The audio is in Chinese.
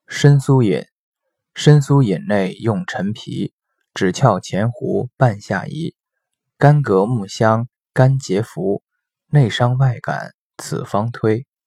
生苏饮，生苏饮内用陈皮，枳壳前胡半夏宜，干葛木香，甘结服，内伤外感，此方推。